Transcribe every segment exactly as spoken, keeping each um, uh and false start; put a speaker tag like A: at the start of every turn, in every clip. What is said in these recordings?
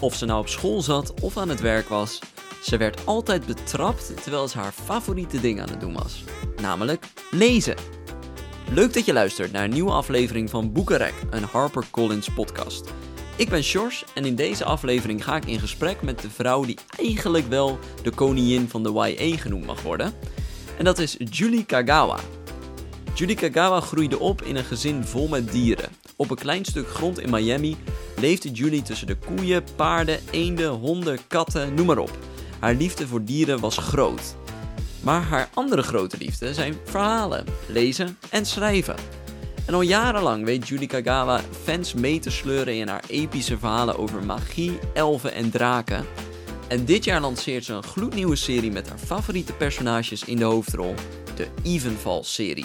A: Of ze nou op school zat of aan het werk was, ze werd altijd betrapt terwijl ze haar favoriete ding aan het doen was. Namelijk lezen. Leuk dat je luistert naar een nieuwe aflevering van Boekenrek, een HarperCollins podcast. Ik ben Sjors en in deze aflevering ga ik in gesprek met de vrouw die eigenlijk wel de koningin van de Y A genoemd mag worden. En dat is Julie Kagawa. Julie Kagawa groeide op in een gezin vol met dieren. Op een klein stuk grond in Miami leefde Julie tussen de koeien, paarden, eenden, honden, katten, noem maar op. Haar liefde voor dieren was groot. Maar haar andere grote liefde zijn verhalen, lezen en schrijven. En al jarenlang weet Julie Kagawa fans mee te sleuren in haar epische verhalen over magie, elfen en draken. En dit jaar lanceert ze een gloednieuwe serie met haar favoriete personages in de hoofdrol, de Evenfall-serie.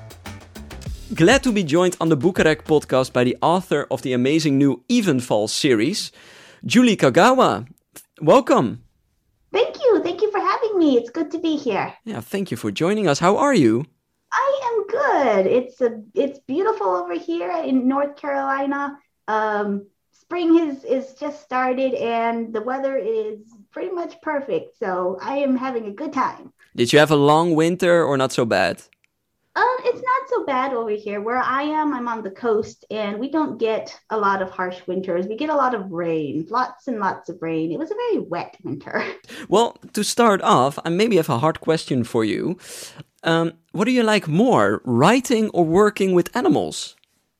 A: Glad to be joined on the Boekenrek podcast by the author of the amazing new Evenfall series, Julie Kagawa. Welcome.
B: Thank you. Thank you for having me. It's good to be here.
A: Yeah, thank you for joining us. How are you?
B: I am good. It's a it's beautiful over here in North Carolina. Um, spring is is just started and the weather is pretty much perfect. So I am having a good time.
A: Did you have a long winter or not so bad?
B: Um, it's not so bad over here. Where I am, I'm on the coast, and we don't get a lot of harsh winters. We get a lot of rain, lots and lots of rain. It was a very wet winter.
A: Well, to start off, I maybe have a hard question for you. Um, what do you like more, writing or working with animals?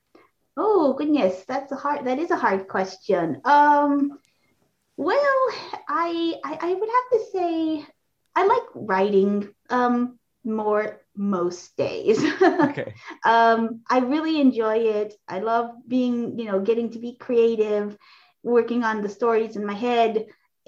B: Oh goodness, that's a hard. That is a hard question. Um, well, I I, I would have to say I like writing. Um, more most days.
A: Okay.
B: um, I really enjoy it. I love being, you know, getting to be creative, working on the stories in my head.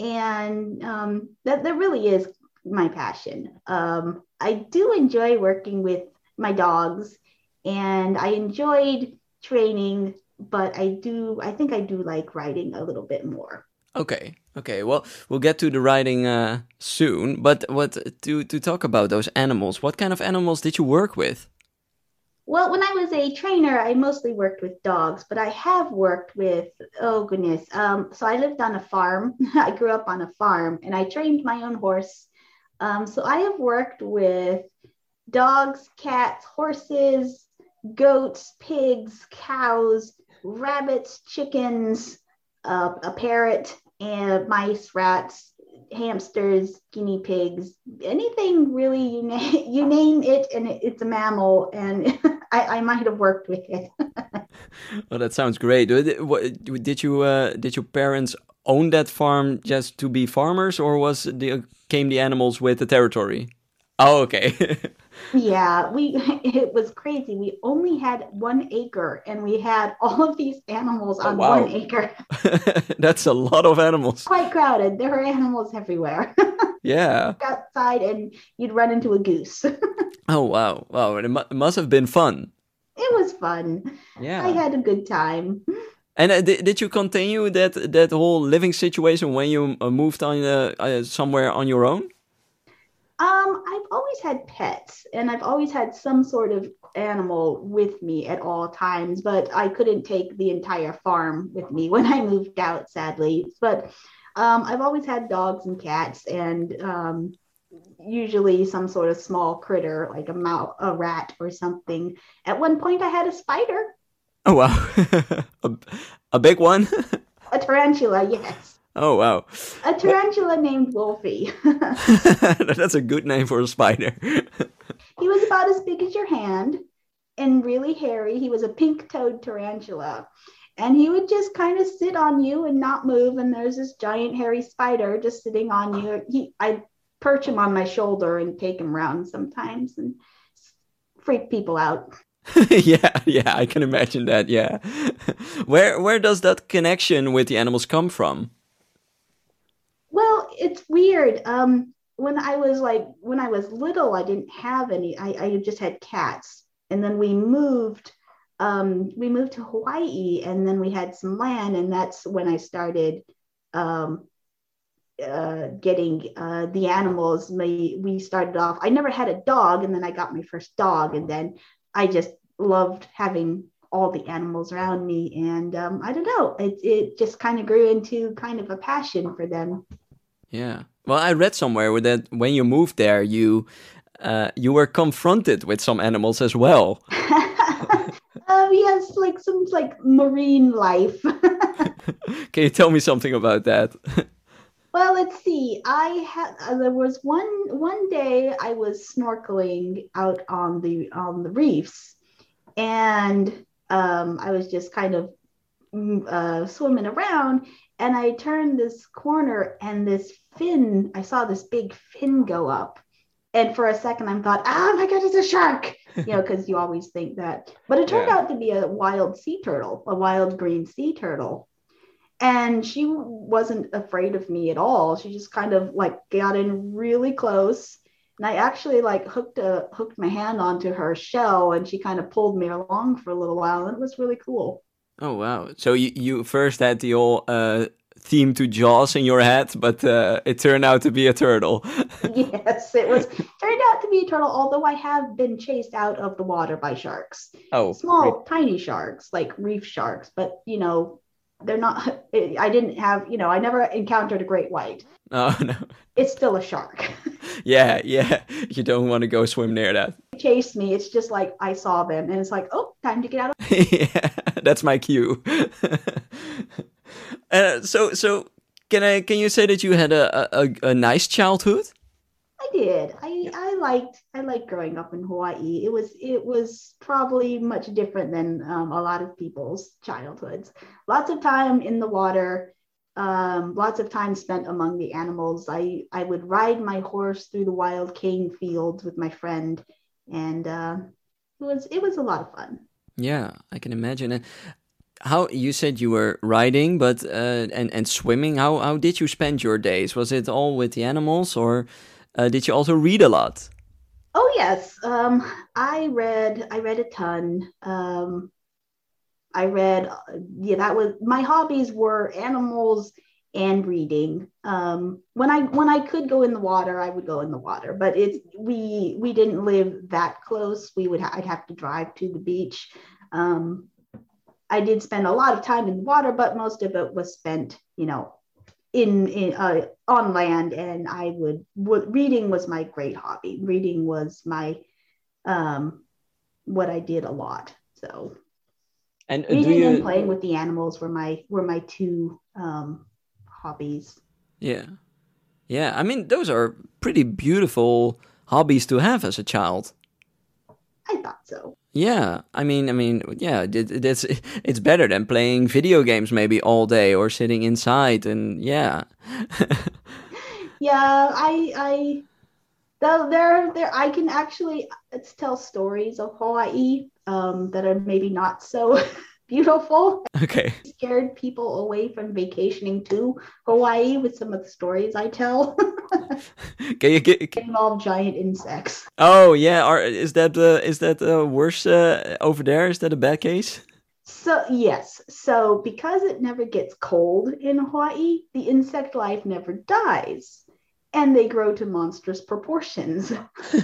B: And um, that, that really is my passion. Um, I do enjoy working with my dogs and I enjoyed training, but I do, I think I do like writing a little bit more.
A: Okay, okay. Well, we'll get to the writing uh, soon. But what to to talk about those animals? What kind of animals did you work with?
B: Well, when I was a trainer, I mostly worked with dogs, but I have worked with, oh goodness. Um, so I lived on a farm. I grew up on a farm and I trained my own horse. Um, so I have worked with dogs, cats, horses, goats, pigs, cows, rabbits, chickens, uh, a parrot, and mice, rats, hamsters, guinea pigs, anything really, you, na- you name it and it, it's a mammal and I, I might have worked with it.
A: Well, that sounds great. Did you uh, did your parents own that farm just to be farmers or was the, came the animals with the territory? Oh, okay.
B: Yeah, we it was crazy. We only had one acre and we had all of these animals on oh, wow. one acre.
A: That's a lot of animals.
B: Quite crowded. There were animals everywhere.
A: Yeah.
B: Outside and you'd run into a goose.
A: Oh, wow. Wow, it, mu- it must have been fun.
B: It was fun. Yeah. I had a good time.
A: And uh, did, did you continue that that whole living situation when you uh, moved on uh, uh, somewhere on your own?
B: Um, I've always had pets and I've always had some sort of animal with me at all times, but I couldn't take the entire farm with me when I moved out, sadly. But um, I've always had dogs and cats and um, usually some sort of small critter like a mouse, a rat or something. At one point I had a spider.
A: Oh, wow. a, a big one?
B: A tarantula, yes.
A: Oh, wow.
B: A tarantula named Wolfie.
A: That's a good name for a spider.
B: He was about as big as your hand and really hairy. He was a pink-toed tarantula. And he would just kind of sit on you and not move. And there's this giant hairy spider just sitting on you. He, I'd perch him on my shoulder and take him around sometimes and freak people out.
A: yeah, yeah, I can imagine that, yeah. Where where does that connection with the animals come from?
B: Well, it's weird. Um, when I was like, when I was little, I didn't have any. I, I just had cats. And then we moved, um, we moved to Hawaii and then we had some land. And that's when I started um, uh, getting uh, the animals. We, we started off, I never had a dog. And then I got my first dog. And then I just loved having all the animals around me. And um, I don't know, it, it just kind of grew into kind of a passion for them.
A: Yeah. Well, I read somewhere that when you moved there, you uh, you were confronted with some animals as well.
B: um, yes, like some like marine life.
A: Can you tell me something about that?
B: Well, let's see. I had uh, there was one one day I was snorkeling out on the on the reefs, and um, I was just kind of mm, uh, swimming around, and I turned this corner, and this fin. I saw this big fin go up, and for a second I thought, "Oh my God, it's a shark!" You know, because you always think that. But it turned
A: Yeah.
B: out to be a wild sea turtle, a wild green sea turtle. And she wasn't afraid of me at all. She just kind of like got in really close. And I actually like hooked a hooked my hand onto her shell, and she kind of pulled me along for a little while. And it was really cool.
A: Oh wow! So you you first had the whole uh, theme to Jaws in your head, but uh, it turned out to be a turtle.
B: Yes, it was turned out to be a turtle, although I have been chased out of the water by sharks.
A: Oh,
B: Small, tiny sharks, like reef sharks, but you know, they're not, I didn't have, you know, I never encountered a great white.
A: oh no!
B: It's still a shark.
A: Yeah, yeah. You don't want to go swim near that.
B: Chase me. It's just like I saw them, and it's like, oh, time to get out of.
A: Yeah, that's my cue. uh, so, so can I? Can you say that you had a a, a nice childhood?
B: I did. I I liked I liked growing up in Hawaii. It was it was probably much different than um, a lot of people's childhoods. Lots of time in the water. Um, lots of time spent among the animals. I I would ride my horse through the wild cane fields with my friend, and uh, it was it was a lot of fun.
A: Yeah, I can imagine. And how you said you were riding, but uh, and and swimming. How how did you spend your days? Was it all with the animals, or uh, did you also read a lot?
B: Oh yes, um, I read I read a ton. Um, I read, yeah, that was my hobbies were animals and reading. Um, when I when I could go in the water, I would go in the water. But it's we we didn't live that close. We would ha- I'd have to drive to the beach. Um, I did spend a lot of time in the water, but most of it was spent, you know, in, in uh, on land. And I would, would reading was my great hobby. Reading was my um, what I did a lot. So.
A: And uh, do
B: Reading and
A: you?
B: playing with the animals were my were my two um, hobbies.
A: Yeah, yeah. I mean, those are pretty beautiful hobbies to have as a child.
B: I thought so.
A: Yeah, I mean, I mean, yeah, it, it's it's better than playing video games maybe all day or sitting inside and yeah.
B: Yeah, I I though there there I can actually tell stories of Hawaii um, that are maybe not so beautiful.
A: Okay.
B: Scared people away from vacationing to Hawaii with some of the stories I tell.
A: Can you get?
B: Involve giant insects.
A: Oh yeah, are is that uh, is that uh, worse uh, over there? Is that a bad case?
B: So yes, so because it never gets cold in Hawaii, the insect life never dies, and they grow to monstrous proportions.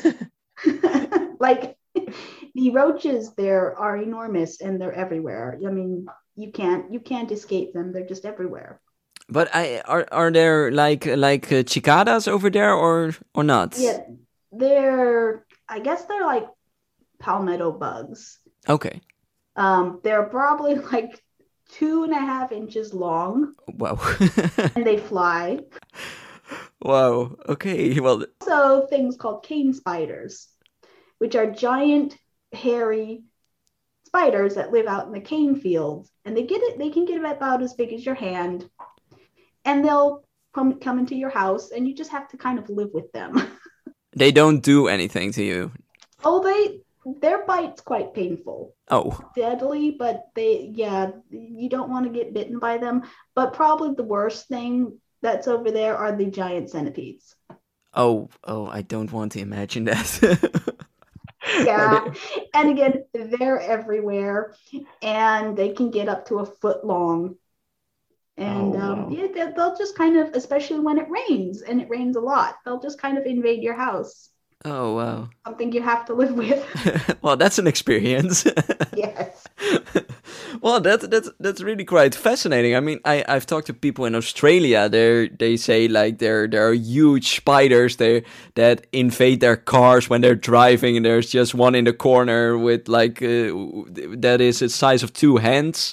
B: Like the roaches there are enormous and they're everywhere. I mean, you can't you can't escape them. They're just everywhere.
A: But I are are there like like uh, cicadas over there or or not?
B: Yeah, they're I guess they're like palmetto bugs.
A: Okay.
B: Um, they're probably like two and a half inches long,
A: Wow.
B: and they fly.
A: Wow. Okay. Well.
B: Also, things called cane spiders, which are giant, hairy spiders that live out in the cane fields, and they get it. They can get about as big as your hand, and they'll come come into your house, and you just have to kind of live with them.
A: They don't do anything to you.
B: Oh, they their bite's quite painful.
A: Oh.
B: Deadly, but they yeah, you don't want to get bitten by them. But probably the worst thing that's over there are the giant centipedes.
A: Oh. Oh. I don't want to imagine that.
B: Yeah, and again, they're everywhere, and they can get up to a foot long. And
A: Oh,
B: um,
A: wow.
B: yeah, they- they'll just kind of, especially when it rains, and it rains a lot, they'll just kind of invade your house.
A: Oh, wow.
B: Something you have to live with.
A: Well, that's an experience.
B: Yes.
A: Well, that that's that's really quite fascinating. I mean, I I've talked to people in Australia. They they say like there there are huge spiders there that invade their cars when they're driving, and there's just one in the corner with like uh, that is the size of two hands.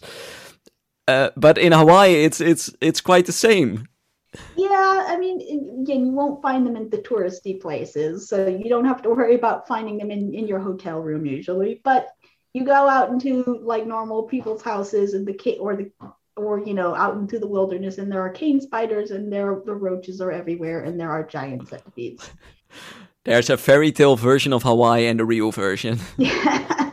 A: Uh, but in Hawaii, it's it's it's quite the same.
B: Yeah, I mean, again, you won't find them in the touristy places, so you don't have to worry about finding them in, in your hotel room usually. But you go out into like normal people's houses and the ca- or the or you know out into the wilderness, and there are cane spiders, and there the roaches are everywhere, and there are giant centipedes.
A: There's a fairy tale version of Hawaii and a real version.
B: Yeah.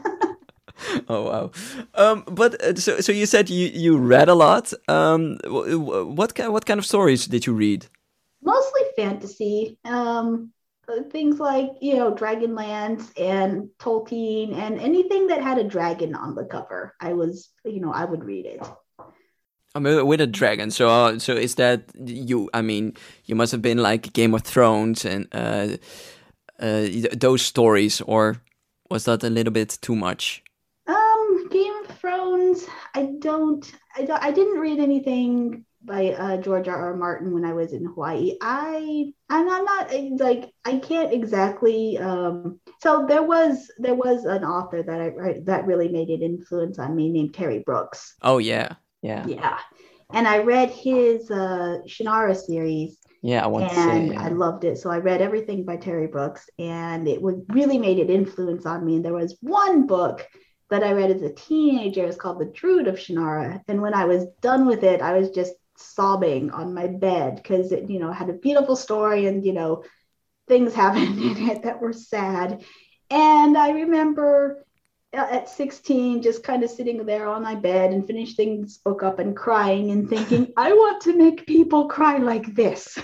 A: Oh wow! Um, but uh, so so you said you, you read a lot. Um, wh- wh- what kind what kind of stories did you read?
B: Mostly fantasy. Um, uh, things like you know Dragonlance and Tolkien and anything that had a dragon on the cover. I was you know I would read it.
A: I mean, with a dragon. So uh, so is that you? I mean, you must have been like Game of Thrones and uh, uh, those stories, or was that a little bit too much?
B: Um, Game of Thrones. I don't. I don't. I didn't read anything by uh, George R. R. Martin when I was in Hawaii. I. I'm not, not uh, like I can't exactly. Um, so there was there was an author that I right, that really made an influence on me named Terry Brooks.
A: Oh yeah, yeah,
B: Yeah, and I read his uh, Shannara series,
A: yeah. I want to say
B: and I
A: yeah.
B: loved it. So I read everything by Terry Brooks, and it was really made an influence on me. And there was one book that I read as a teenager. It's called The Druid of Shannara. And when I was done with it, I was just sobbing on my bed because it, you know, had a beautiful story and, you know, things happened in it that were sad. And I remember uh, at sixteen, just kind of sitting there on my bed and finishing this book up and crying and thinking, I want to make people cry like this.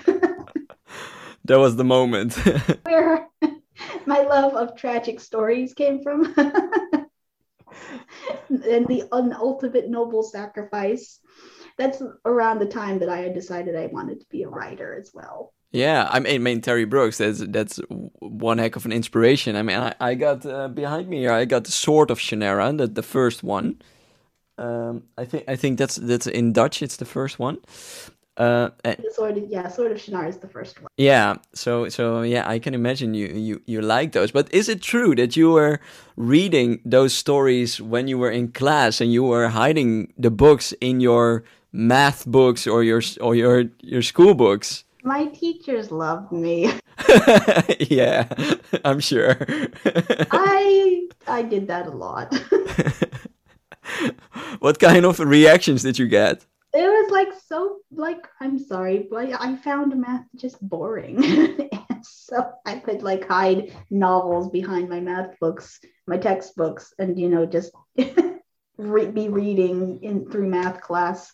A: That was the moment.
B: Where my love of tragic stories came from. And the un- ultimate noble sacrifice. That's around the time that I had decided I wanted to be a writer as well.
A: Yeah, I mean, I mean Terry Brooks. That's that's one heck of an inspiration. I mean, I, I got uh, behind me here. I got the Sword of Shannara, the the first one. Um, I think I think that's that's in Dutch. It's the first one. Uh, and
B: The Sword of, yeah, Sword of Shannara is the first one.
A: yeah. So so yeah, I can imagine you you you like those. But is it true that you were reading those stories when you were in class and you were hiding the books in your math books or your or your your school books?
B: My teachers loved me.
A: Yeah, I'm sure.
B: I I did that a lot.
A: What kind of reactions did you get?
B: It was like so like I'm sorry, but I found math just boring. And so I could like hide novels behind my math books, my textbooks, and you know just re- be reading in through math class.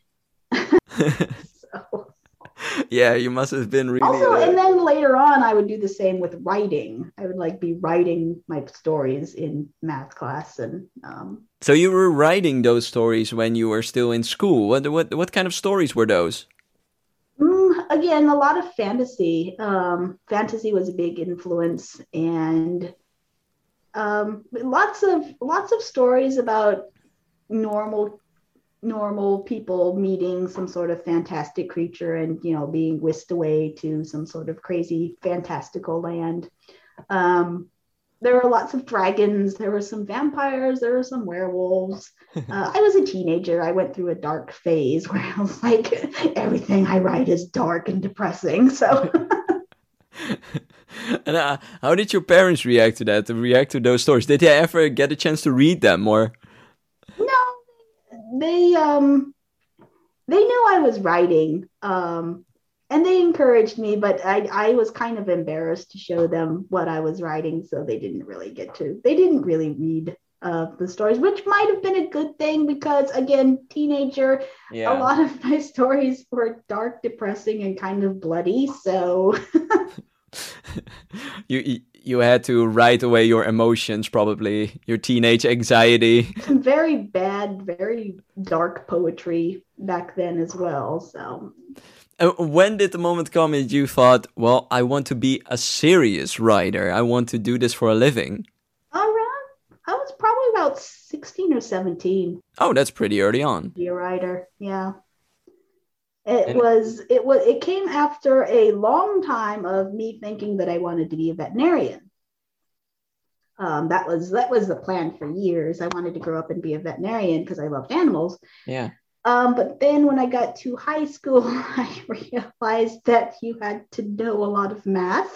B: So
A: Yeah, you must have been really.
B: also,
A: Uh...
B: and then later on, I would do the same with writing. I would like be writing my stories in math class, and um,
A: So you were writing those stories when you were still in school. What what what kind of stories were those?
B: mm, again, a lot of fantasy. Um, fantasy was a big influence, and um, lots of lots of stories about normal normal people meeting some sort of fantastic creature and you know being whisked away to some sort of crazy fantastical land. Um, there were lots of dragons. There were some vampires. There were some werewolves. Uh, I was a teenager. I went through a dark phase where I was like, everything I write is dark and depressing. So,
A: And uh, how did your parents react to that? To react to those stories? Did they ever get a chance to read them, or?
B: no, they um they knew I was writing. Um, and they encouraged me, but I, I was kind of embarrassed to show them what I was writing, so they didn't really get to. They didn't really read uh, the stories, which might have been a good thing because, again, teenager, a
A: Yeah.
B: lot of my stories were dark, depressing, and kind of bloody. So
A: you you you had to write away your emotions, probably your teenage anxiety.
B: some very bad, very dark poetry back then as well. So
A: Uh, when did the moment come that you thought, well, I want to be a serious writer. I want to do this for a living?
B: Around, I was probably about sixteen or seventeen.
A: Oh, that's pretty early on.
B: Be a writer, yeah. It
A: And
B: was, it was, it came after a long time of me thinking that I wanted to be a veterinarian. Um, that was that was the plan for years. I wanted to grow up and be a veterinarian because I loved animals.
A: yeah.
B: Um, but then when I got to high school, I realized that you had to know a lot of math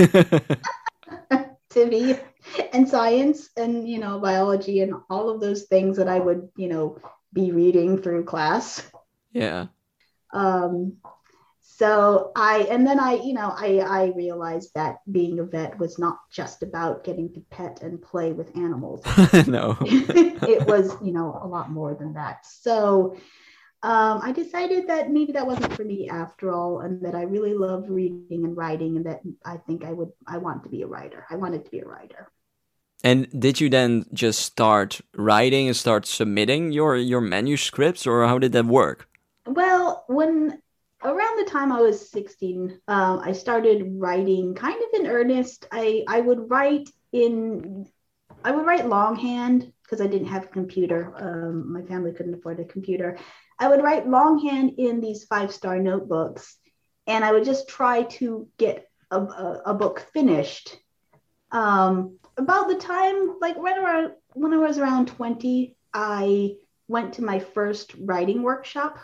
B: to be, and science and, you know, biology and all of those things that I would, you know, be reading through class.
A: yeah.
B: Um, so I, and then I, you know, I, I realized that being a vet was not just about getting to pet and play with animals.
A: no.
B: It was, you know, a lot more than that. So um, I decided that maybe that wasn't for me after all, and that I really loved reading and writing, and that I think I would, I want to be a writer. I wanted to be a writer.
A: And did you then just start writing and start submitting your, your manuscripts, or how did that work?
B: Well, when around the time I was sixteen, um, I started writing kind of in earnest. I, I would write in, I would write longhand because I didn't have a computer. Um, my family couldn't afford a computer. I would write longhand in these five-star notebooks, and I would just try to get a, a, a book finished. Um, about the time, like right around when I was around twenty, I went to my first writing workshop.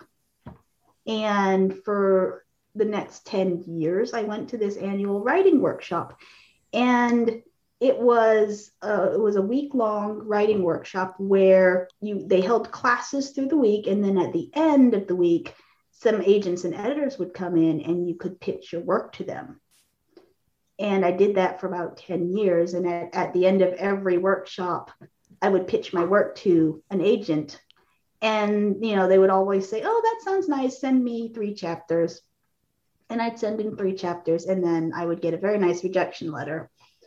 B: And for the next ten years, I went to this annual writing workshop. And it was uh, it was a week-long writing workshop where you they held classes through the week, and then at the end of the week, some agents and editors would come in and you could pitch your work to them. And I did that for about ten years. And at, at the end of every workshop, I would pitch my work to an agent. And, you know, they would always say, oh, that sounds nice. Send me three chapters. And I'd send in three chapters, and then I would get a very nice rejection letter.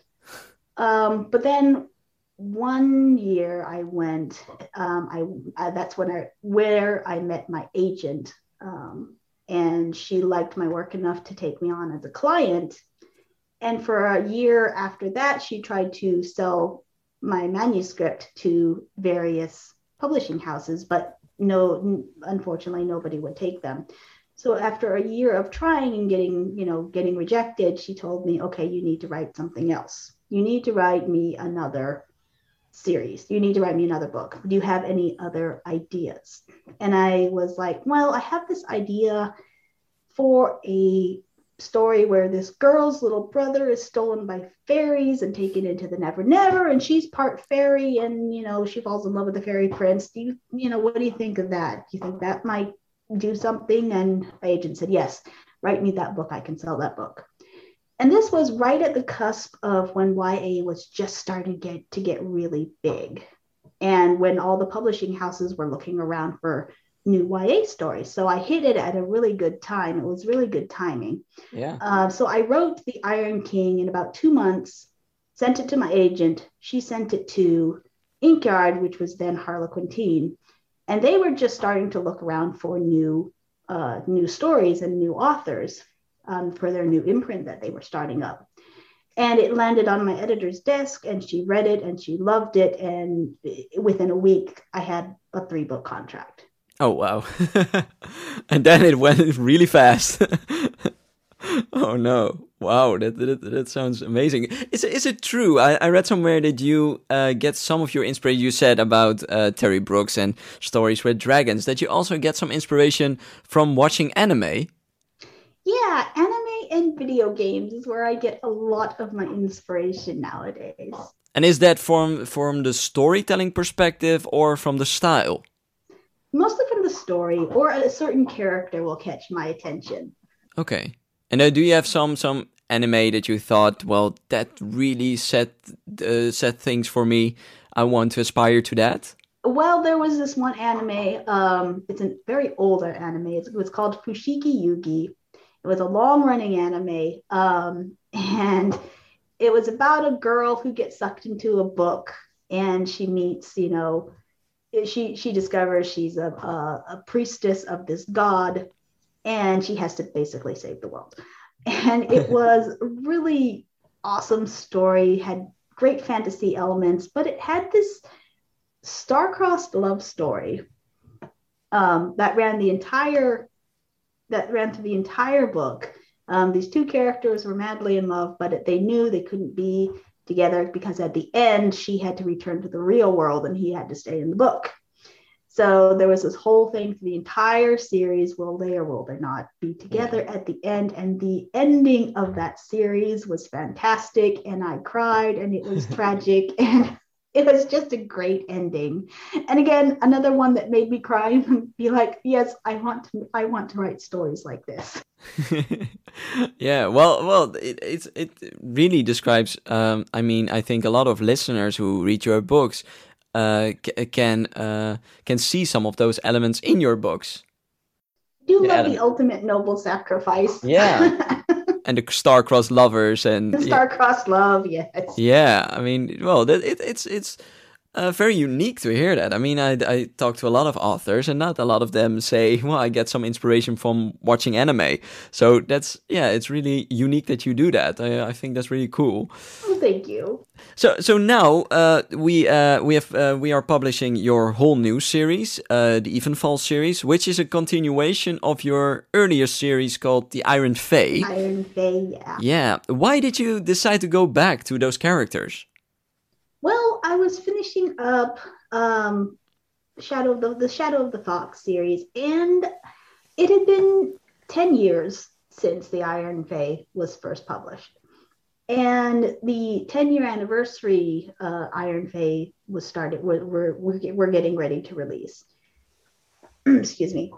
B: Um, but then one year I went, um, I, I that's when I, where I met my agent. Um, and she liked my work enough to take me on as a client. And for a year after that, she tried to sell my manuscript to various publishing houses, but no, unfortunately, nobody would take them. So after a year of trying and getting, you know, getting rejected, she told me, okay, you need to write something else. You need to write me another series. You need to write me another book. Do you have any other ideas? And I was like, well, I have this idea for a story where this girl's little brother is stolen by fairies and taken into the Never Never, and she's part fairy, and, you know, she falls in love with the fairy prince. Do you, you know, what do you think of that? Do you think that might do something? And my agent said, yes, write me that book. I can sell that book. And this was right at the cusp of when Y A was just starting to get, to get really big, and when all the publishing houses were looking around for new Y A stories. So I hit it at a really good time. It was really good timing.
A: Yeah.
B: Uh, so I wrote The Iron King in about two months, sent it to my agent. She sent it to Inkyard, which was then Harlequintine. And they were just starting to look around for new, uh, new stories and new authors um, for their new imprint that they were starting up. And it landed on my editor's desk, and she read it and she loved it. And within a week, I had a three book contract.
A: Oh, wow. And then it went really fast. Oh, no. Wow, that, that that sounds amazing. Is, is it true? I, I read somewhere that you uh, get some of your inspiration, you said about uh, Terry Brooks and Stories with Dragons, that you also get some inspiration from watching anime.
B: Yeah, anime and video games is where I get a lot of my inspiration nowadays.
A: And is that from, from the storytelling perspective or from the style?
B: Mostly from the story, or a certain character will catch my attention.
A: Okay. And uh, do you have some some anime that you thought, well, that really set uh, set things for me? I want to aspire to that.
B: Well, there was this one anime. Um, it's a very older anime. It's, it was called Fushigi Yugi. It was a long-running anime, um, and it was about a girl who gets sucked into a book, and she meets, you know. She she discovers she's a, a, a priestess of this god, and she has to basically save the world. And it was a really awesome story, had great fantasy elements, but it had this star-crossed love story um, that ran the entire, that ran through the entire book. Um, these two characters were madly in love, but they knew they couldn't be together because at the end, she had to return to the real world and he had to stay in the book. So there was this whole thing for the entire series. Will they or will they not be together yeah. at the end? And the ending of that series was fantastic. And I cried and it was tragic. And it was just a great ending. And again, another one that made me cry and be like, yes, I want to, I want to write stories like this.
A: yeah, well, well, it, it, it really describes, um, I mean, I think a lot of listeners who read your books Uh, c- can uh, can see some of those elements in your books.
B: You love ele- the ultimate noble sacrifice.
A: Yeah, and the star-crossed lovers and
B: the star-crossed yeah. love. Yes.
A: Yeah, I mean, well, that, it, it's it's uh, very unique to hear that. I mean, I I talk to a lot of authors, and not a lot of them say, "Well, I get some inspiration from watching anime." So that's yeah, it's really unique that you do that. I I think that's really cool.
B: Oh, thank you.
A: So, so now uh, we uh, we have uh, we are publishing your whole new series, uh, the Evenfall series, which is a continuation of your earlier series called the Iron Fae.
B: Iron Fae, yeah.
A: Yeah. Why did you decide to go back to those characters?
B: Well, I was finishing up um, Shadow of the, the Shadow of the Fox series, and it had been ten years since the Iron Fae was first published. And the ten-year anniversary uh, Iron Fae was started. We're, we're, we're getting ready to release. Excuse me.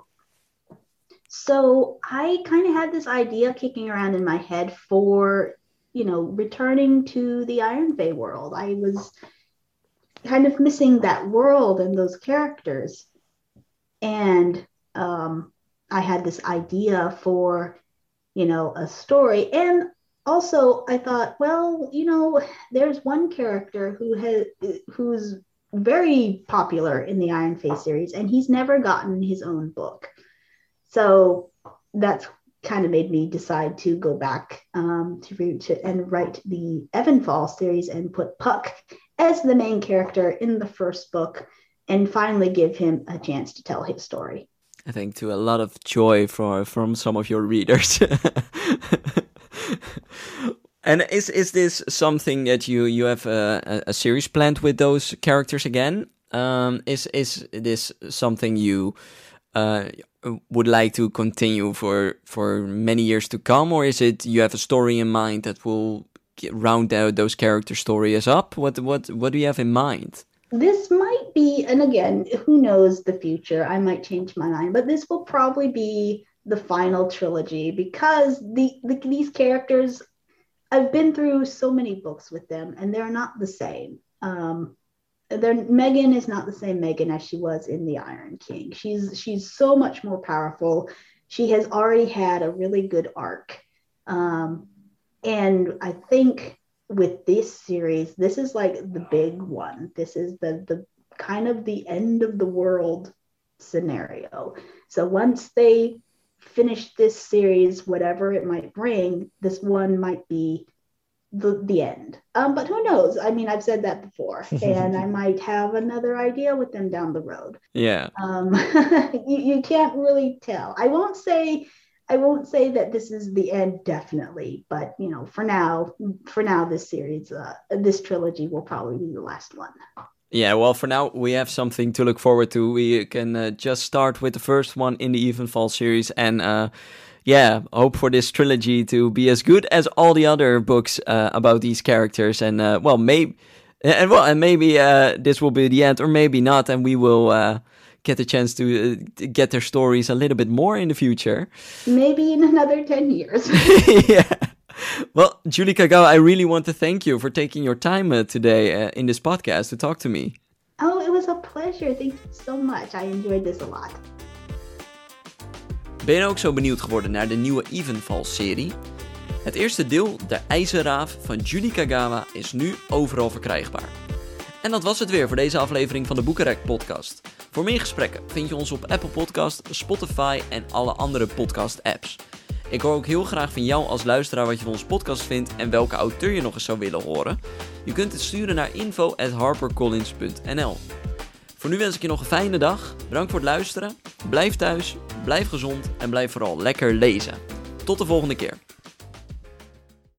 B: So I kind of had this idea kicking around in my head for, you know, returning to the Iron Fae world. I was kind of missing that world and those characters. And um, I had this idea for, you know, a story. And also, I thought, well, you know, there's one character who has who's very popular in the Iron Fae series, and he's never gotten his own book. So that's kind of made me decide to go back um, to read to, and write the Evenfall series and put Puck as the main character in the first book, and finally give him a chance to tell his story.
A: I think to a lot of joy for from some of your readers. And is is this something that you you have a, a series planned with those characters again? Um, is is this something you uh, would like to continue for for many years to come, or is it you have a story in mind that will get, round out those character stories up? What what what do you have in mind?
B: This might be, and again, who knows the future? I might change my mind, but this will probably be the final trilogy because the, the these characters, I've been through so many books with them and they're not the same. Um, they're, Megan is not the same Megan as she was in the Iron King. She's she's so much more powerful. She has already had a really good arc. Um, and I think with this series, this is like the big one. This is the the kind of the end of the world scenario. So once they finish this series, whatever it might bring, this one might be the the end. Um, but who knows? I mean, I've said that before, and I might have another idea with them down the road.
A: Yeah.
B: Um, you, you can't really tell. I won't say I won't say that this is the end, definitely, but you know, for now, for now, this series, uh, this trilogy will probably be the last one.
A: Yeah, well, for now, we have something to look forward to. We can uh, just start with the first one in the Evenfall series and, uh, yeah, hope for this trilogy to be as good as all the other books uh, about these characters. And, uh, well, maybe, and well, and maybe uh, this will be the end, or maybe not, and we will uh, get the chance to, uh, to get their stories a little bit more in the future.
B: Maybe in another ten years.
A: Yeah. Well, Julie Kagawa, I really want to thank you for taking your time uh, today uh, in this podcast to talk to me.
B: Oh, it was a pleasure. Thank you so much. I enjoyed this a lot.
A: Ben je ook zo benieuwd geworden naar de nieuwe Evenfall-serie? Het eerste deel, De IJzerraaf van Julie Kagawa, is nu overal verkrijgbaar. En dat was het weer voor deze aflevering van de Boekenrek podcast. Voor meer gesprekken vind je ons op Apple Podcast, Spotify en alle andere podcast apps. Ik hoor ook heel graag van jou als luisteraar wat je van onze podcast vindt en welke auteur je nog eens zou willen horen. Je kunt het sturen naar info at harpercollins punt n l. Voor nu wens ik je nog een fijne dag. Bedankt voor het luisteren. Blijf thuis, blijf gezond en blijf vooral lekker lezen. Tot de volgende keer.